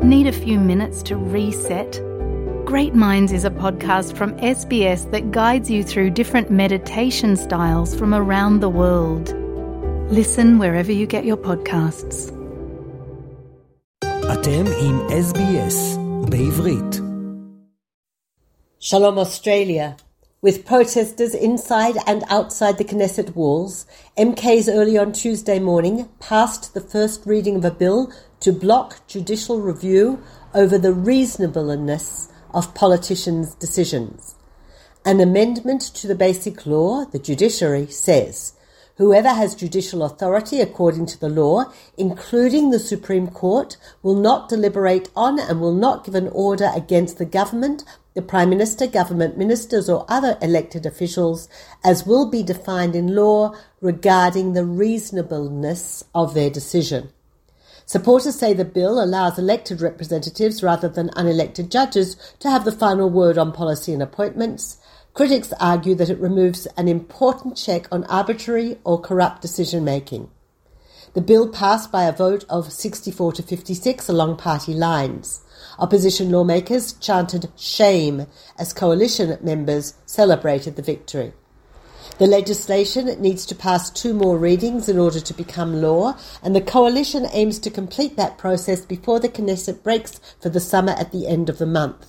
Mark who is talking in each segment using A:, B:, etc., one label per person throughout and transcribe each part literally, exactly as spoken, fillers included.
A: Need a few minutes to reset? Great Minds is a podcast from S B S that guides you through different meditation styles from around the world. Listen wherever you get your podcasts.
B: אתם עם S B S בעברית.
C: Shalom Australia. With protesters inside and outside the Knesset walls, M Ks early on Tuesday morning passed the first reading of a bill to block judicial review over the reasonableness of politicians' decisions. An amendment to the Basic Law, the judiciary, says whoever has judicial authority according to the law, including the Supreme Court, will not deliberate on and will not give an order against the government, the Prime Minister, government ministers or other elected officials, as will be defined in law regarding the reasonableness of their decision. Supporters say the bill allows elected representatives rather than unelected judges to have the final word on policy and appointments. Critics argue that it removes an important check on arbitrary or corrupt decision-making. The bill passed by a vote of sixty-four to fifty-six along party lines. Opposition lawmakers chanted shame as coalition members celebrated the victory. The legislation needs to pass two more readings in order to become law, and the coalition aims to complete that process before the Knesset breaks for the summer at the end of the month.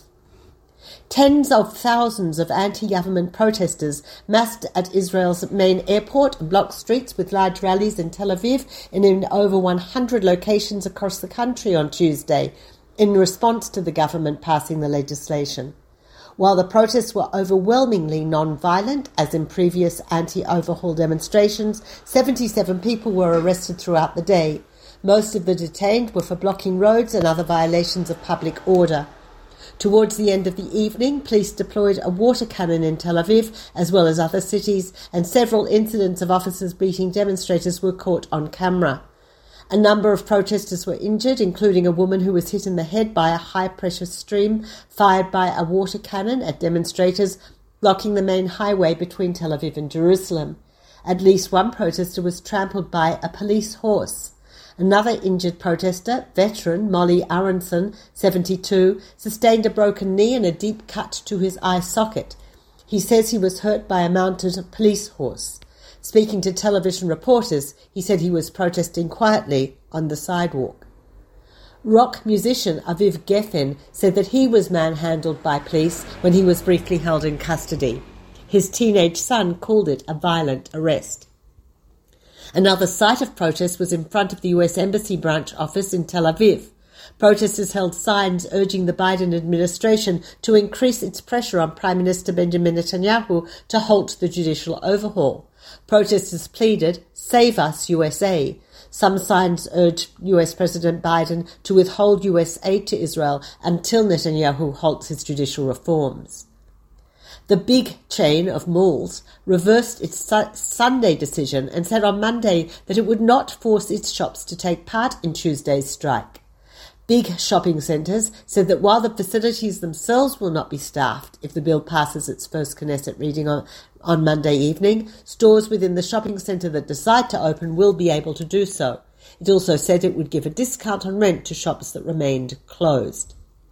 C: Tens of thousands of anti-government protesters massed at Israel's main airport and blocked streets with large rallies in Tel Aviv and in over one hundred locations across the country on Tuesday in response to the government passing the legislation. While the protests were overwhelmingly non-violent, as in previous anti-overhaul demonstrations, seventy-seven people were arrested throughout the day. Most of the detained were for blocking roads and other violations of public order. Towards the end of the evening, police deployed a water cannon in Tel Aviv, as well as other cities, and several incidents of officers beating demonstrators were caught on camera. A number of protesters were injured, including a woman who was hit in the head by a high-pressure stream fired by a water cannon at demonstrators blocking the main highway between Tel Aviv and Jerusalem. At least one protester was trampled by a police horse. Another injured protester, veteran Molly Aronson, seventy-two, sustained a broken knee and a deep cut to his eye socket. He says he was hurt by a mounted police horse. Speaking to television reporters, he said he was protesting quietly on the sidewalk. Rock musician Aviv Geffen said that he was manhandled by police when he was briefly held in custody. His teenage son called it a violent arrest. Another site of protest was in front of the U S Embassy branch office in Tel Aviv. Protesters held signs urging the Biden administration to increase its pressure on Prime Minister Benjamin Netanyahu to halt the judicial overhaul. Protesters pleaded, "Save us, U S A." Some signs urged U S President Biden to withhold U S aid to Israel until Netanyahu halts his judicial reforms. The big chain of malls reversed its su- Sunday decision and said on Monday that it would not force its shops to take part in Tuesday's strike. Big shopping centres said that while the facilities themselves will not be staffed if the bill passes its first Knesset reading on, on Monday evening, stores within the shopping centre that decide to open will be able to do so. It also said it would give a discount on rent to shops that remained closed.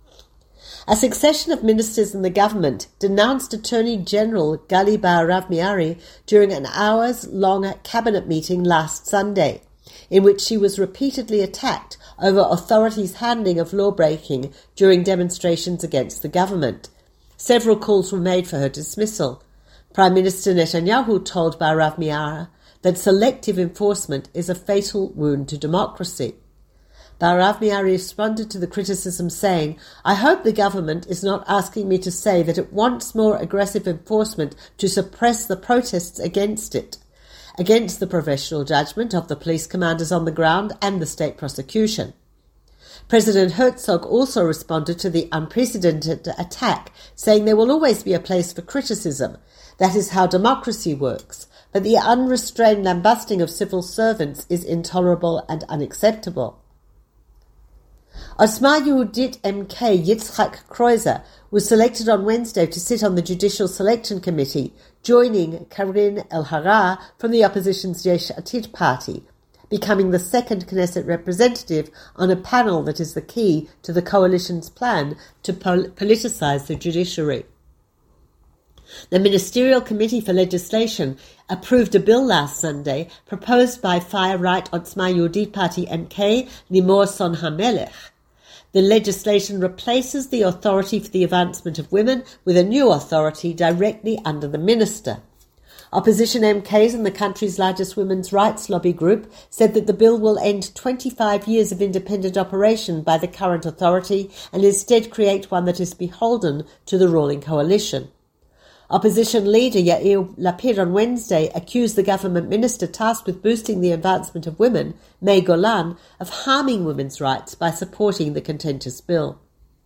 C: A succession of ministers in the government denounced Attorney General Gali Baharav Miari during an hours-long cabinet meeting last Sunday, in which she was repeatedly attacked over authorities' handling of law-breaking during demonstrations against the government. Several calls were made for her dismissal. Prime Minister Netanyahu told Baharav Miari that selective enforcement is a fatal wound to democracy. Baharav Miari responded to the criticism saying, "I hope the government is not asking me to say that it wants more aggressive enforcement to suppress the protests against it, against the professional judgment of the police commanders on the ground and the state prosecution." President Herzog also responded to the unprecedented attack, saying there will always be a place for criticism. That is how democracy works. But the unrestrained lambasting of civil servants is intolerable and unacceptable. Osma Yehudit M K Yitzhak Kreuzer was selected on Wednesday to sit on the Judicial Selection Committee, joining Karin Elhara from the opposition's Yesh Atid party. becoming the second Knesset representative on a panel that is the key to the coalition's plan to pol- politicize the judiciary. The Ministerial Committee for Legislation approved a bill last Sunday proposed by far-right Otzma Yehudit Party M K Limor Son HaMelech. The legislation replaces the authority for the advancement of women with a new authority directly under the minister. Opposition M Ks and the country's largest women's rights lobby group said that the bill will end twenty-five years of independent operation by the current authority and instead create one that is beholden to the ruling coalition. Opposition leader Yair Lapid on Wednesday accused the government minister tasked with boosting the advancement of women, May Golan, of harming women's rights by supporting the contentious bill.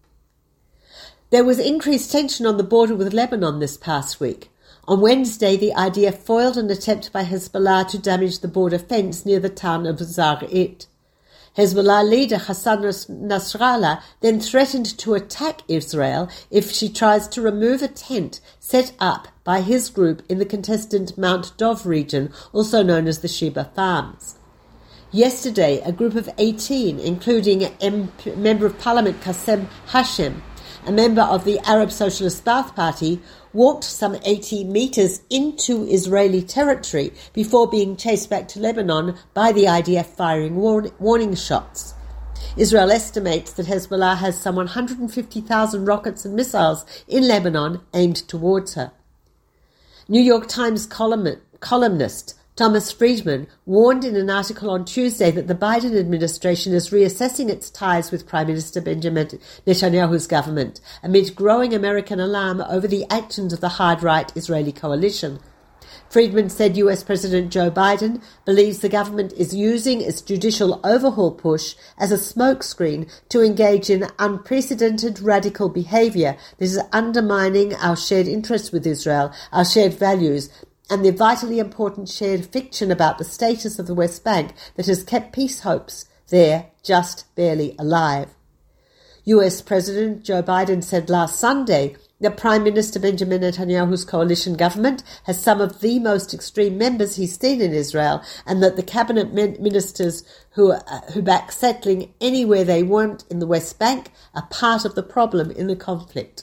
C: There was increased tension on the border with Lebanon this past week. On Wednesday, the I D F foiled an attempt by Hezbollah to damage the border fence near the town of Zar'it. Hezbollah leader Hassan Nasrallah then threatened to attack Israel if she tries to remove a tent set up by his group in the contested Mount Dov region, also known as the Sheba Farms. Yesterday, a group of eighteen, including M P, Member of Parliament Qassem Hashem, a member of the Arab Socialist Ba'ath Party, walked some eighty metres into Israeli territory before being chased back to Lebanon by the I D F firing warn- warning shots. Israel estimates that Hezbollah has some one hundred fifty thousand rockets and missiles in Lebanon aimed towards her. New York Times column- columnist Thomas Friedman warned in an article on Tuesday that the Biden administration is reassessing its ties with Prime Minister Benjamin Netanyahu's government amid growing American alarm over the actions of the hard-right Israeli coalition. Friedman said U S President Joe Biden believes the government is using its judicial overhaul push as a smokescreen to engage in unprecedented radical behavior that is undermining our shared interests with Israel, our shared values, and the vitally important shared fiction about the status of the West Bank that has kept peace hopes there just barely alive. U S President Joe Biden said last Sunday that Prime Minister Benjamin Netanyahu's coalition government has some of the most extreme members he's seen in Israel, and that the cabinet ministers who, uh, who back settling anywhere they want in the West Bank are part of the problem in the conflict.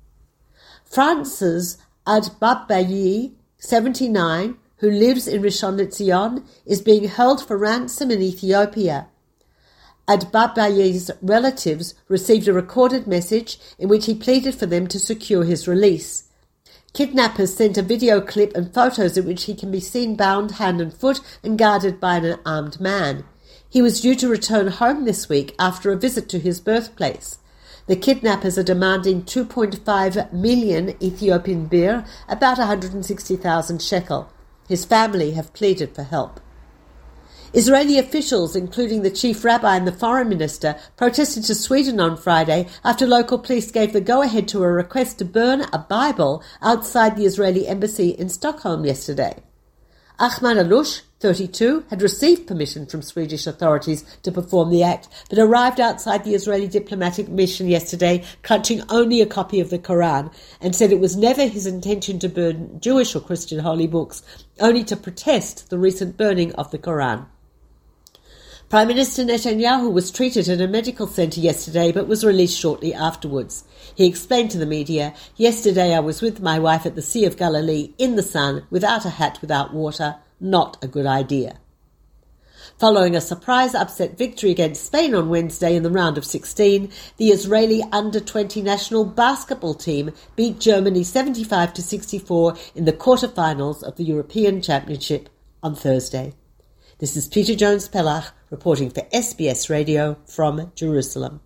C: France's Adbabayi, seventy-nine, who lives in Rishon LeZion, is being held for ransom in Ethiopia. Adbabayi's relatives received a recorded message in which he pleaded for them to secure his release. Kidnappers sent a video clip and photos in which he can be seen bound hand and foot and guarded by an armed man. He was due to return home this week after a visit to his birthplace. The kidnappers are demanding two point five million Ethiopian birr, about one hundred sixty thousand shekel. His family have pleaded for help. Israeli officials, including the chief rabbi and the foreign minister, protested to Sweden on Friday after local police gave the go-ahead to a request to burn a Bible outside the Israeli embassy in Stockholm yesterday. Ahmad Alush, thirty-two, had received permission from Swedish authorities to perform the act, but arrived outside the Israeli diplomatic mission yesterday clutching only a copy of the Quran, and said it was never his intention to burn Jewish or Christian holy books, only to protest the recent burning of the Quran. Prime Minister Netanyahu was treated at a medical centre yesterday but was released shortly afterwards. He explained to the media, "Yesterday I was with my wife at the Sea of Galilee in the sun, without a hat, without water. Not a good idea." Following a surprise upset victory against Spain on Wednesday in the round of sixteen, the Israeli under twenty national basketball team beat Germany seventy-five to sixty-four in the quarter-finals of the European Championship on Thursday. This is Peter Jones-Pellach reporting for S B S Radio from Jerusalem.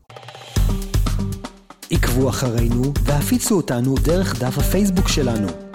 B: עקבו אחרינו והפיצו אותנו דרך דף הפייסבוק שלנו.